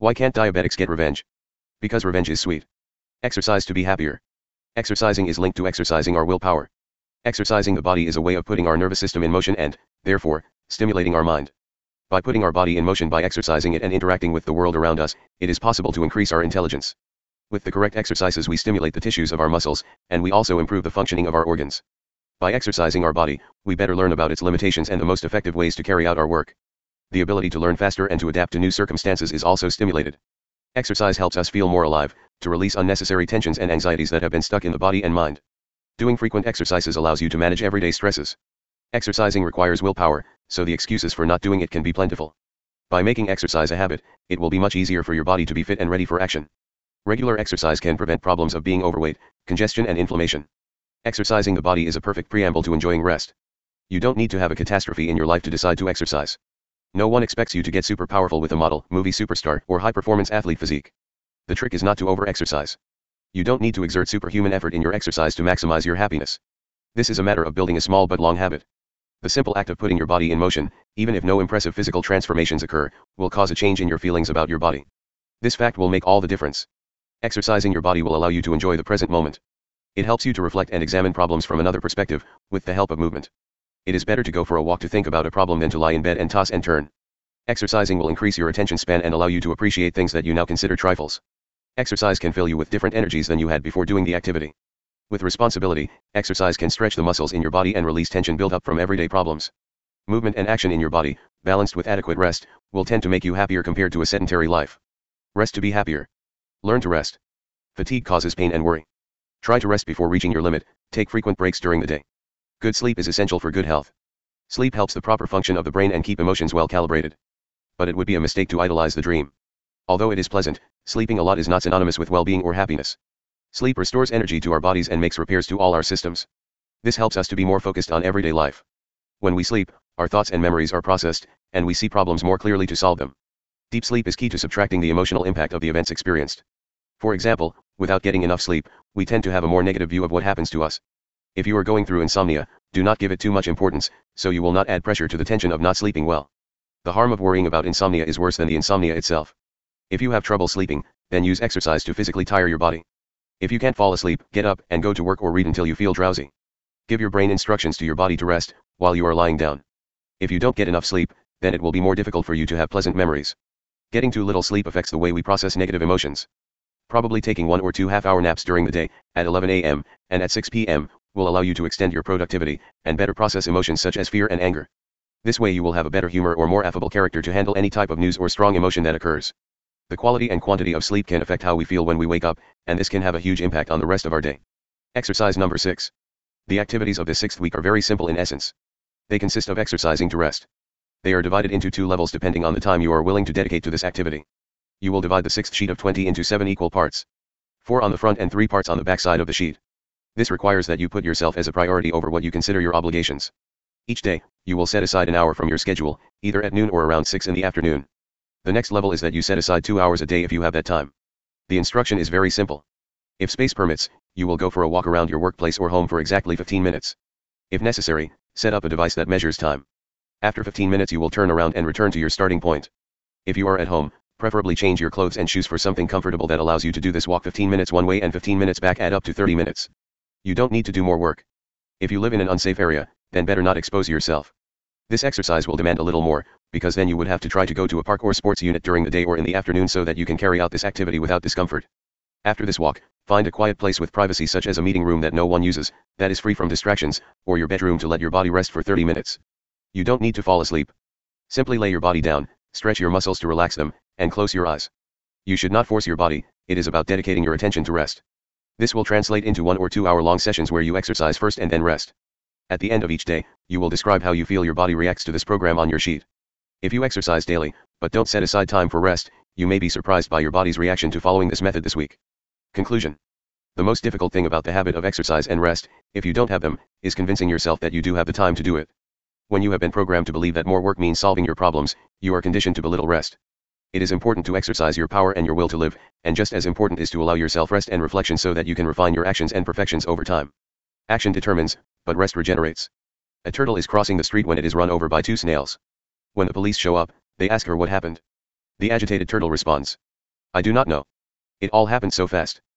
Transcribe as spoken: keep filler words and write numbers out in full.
Why can't diabetics get revenge? Because revenge is sweet. Exercise to be happier. Exercising is linked to exercising our willpower. Exercising the body is a way of putting our nervous system in motion and, therefore, stimulating our mind. By putting our body in motion by exercising it and interacting with the world around us, it is possible to increase our intelligence. With the correct exercises we stimulate the tissues of our muscles, and we also improve the functioning of our organs. By exercising our body, we better learn about its limitations and the most effective ways to carry out our work. The ability to learn faster and to adapt to new circumstances is also stimulated. Exercise helps us feel more alive, to release unnecessary tensions and anxieties that have been stuck in the body and mind. Doing frequent exercises allows you to manage everyday stresses. Exercising requires willpower, so the excuses for not doing it can be plentiful. By making exercise a habit, it will be much easier for your body to be fit and ready for action. Regular exercise can prevent problems of being overweight, congestion and inflammation. Exercising the body is a perfect preamble to enjoying rest. You don't need to have a catastrophe in your life to decide to exercise. No one expects you to get super powerful with a model, movie superstar, or high-performance athlete physique. The trick is not to over-exercise. You don't need to exert superhuman effort in your exercise to maximize your happiness. This is a matter of building a small but long habit. The simple act of putting your body in motion, even if no impressive physical transformations occur, will cause a change in your feelings about your body. This fact will make all the difference. Exercising your body will allow you to enjoy the present moment. It helps you to reflect and examine problems from another perspective, with the help of movement. It is better to go for a walk to think about a problem than to lie in bed and toss and turn. Exercising will increase your attention span and allow you to appreciate things that you now consider trifles. Exercise can fill you with different energies than you had before doing the activity. With responsibility, exercise can stretch the muscles in your body and release tension built up from everyday problems. Movement and action in your body, balanced with adequate rest, will tend to make you happier compared to a sedentary life. Rest to be happier. Learn to rest. Fatigue causes pain and worry. Try to rest before reaching your limit, take frequent breaks during the day. Good sleep is essential for good health. Sleep helps the proper function of the brain and keep emotions well calibrated. But it would be a mistake to idolize the dream. Although it is pleasant, sleeping a lot is not synonymous with well-being or happiness. Sleep restores energy to our bodies and makes repairs to all our systems. This helps us to be more focused on everyday life. When we sleep, our thoughts and memories are processed, and we see problems more clearly to solve them. Deep sleep is key to subtracting the emotional impact of the events experienced. For example, without getting enough sleep, we tend to have a more negative view of what happens to us. If you are going through insomnia, do not give it too much importance, so you will not add pressure to the tension of not sleeping well. The harm of worrying about insomnia is worse than the insomnia itself. If you have trouble sleeping, then use exercise to physically tire your body. If you can't fall asleep, get up and go to work or read until you feel drowsy. Give your brain instructions to your body to rest, while you are lying down. If you don't get enough sleep, then it will be more difficult for you to have pleasant memories. Getting too little sleep affects the way we process negative emotions. Probably taking one or two half-hour naps during the day, at eleven a m, and at six p m, will allow you to extend your productivity, and better process emotions such as fear and anger. This way you will have a better humor or more affable character to handle any type of news or strong emotion that occurs. The quality and quantity of sleep can affect how we feel when we wake up, and this can have a huge impact on the rest of our day. Exercise number six. The activities of this sixth week are very simple in essence. They consist of exercising to rest. They are divided into two levels depending on the time you are willing to dedicate to this activity. You will divide the sixth sheet of twenty into seven equal parts. Four on the front and three parts on the back side of the sheet. This requires that you put yourself as a priority over what you consider your obligations. Each day, you will set aside an hour from your schedule, either at noon or around six in the afternoon. The next level is that you set aside two hours a day if you have that time. The instruction is very simple. If space permits, you will go for a walk around your workplace or home for exactly fifteen minutes. If necessary, set up a device that measures time. After fifteen minutes you will turn around and return to your starting point. If you are at home, preferably change your clothes and shoes for something comfortable that allows you to do this walk fifteen minutes one way and fifteen minutes back, add up to thirty minutes. You don't need to do more work. If you live in an unsafe area, then better not expose yourself. This exercise will demand a little more, because then you would have to try to go to a park or sports unit during the day or in the afternoon so that you can carry out this activity without discomfort. After this walk, find a quiet place with privacy such as a meeting room that no one uses, that is free from distractions, or your bedroom to let your body rest for thirty minutes. You don't need to fall asleep. Simply lay your body down, stretch your muscles to relax them, and close your eyes. You should not force your body, it is about dedicating your attention to rest. This will translate into one or two hour long sessions where you exercise first and then rest. At the end of each day, you will describe how you feel your body reacts to this program on your sheet. If you exercise daily, but don't set aside time for rest, you may be surprised by your body's reaction to following this method this week. Conclusion. The most difficult thing about the habit of exercise and rest, if you don't have them, is convincing yourself that you do have the time to do it. When you have been programmed to believe that more work means solving your problems, you are conditioned to belittle rest. It is important to exercise your power and your will to live, and just as important is to allow yourself rest and reflection so that you can refine your actions and perfections over time. Action determines, but rest regenerates. A turtle is crossing the street when it is run over by two snails. When the police show up, they ask her what happened. The agitated turtle responds, I do not know. It all happened so fast.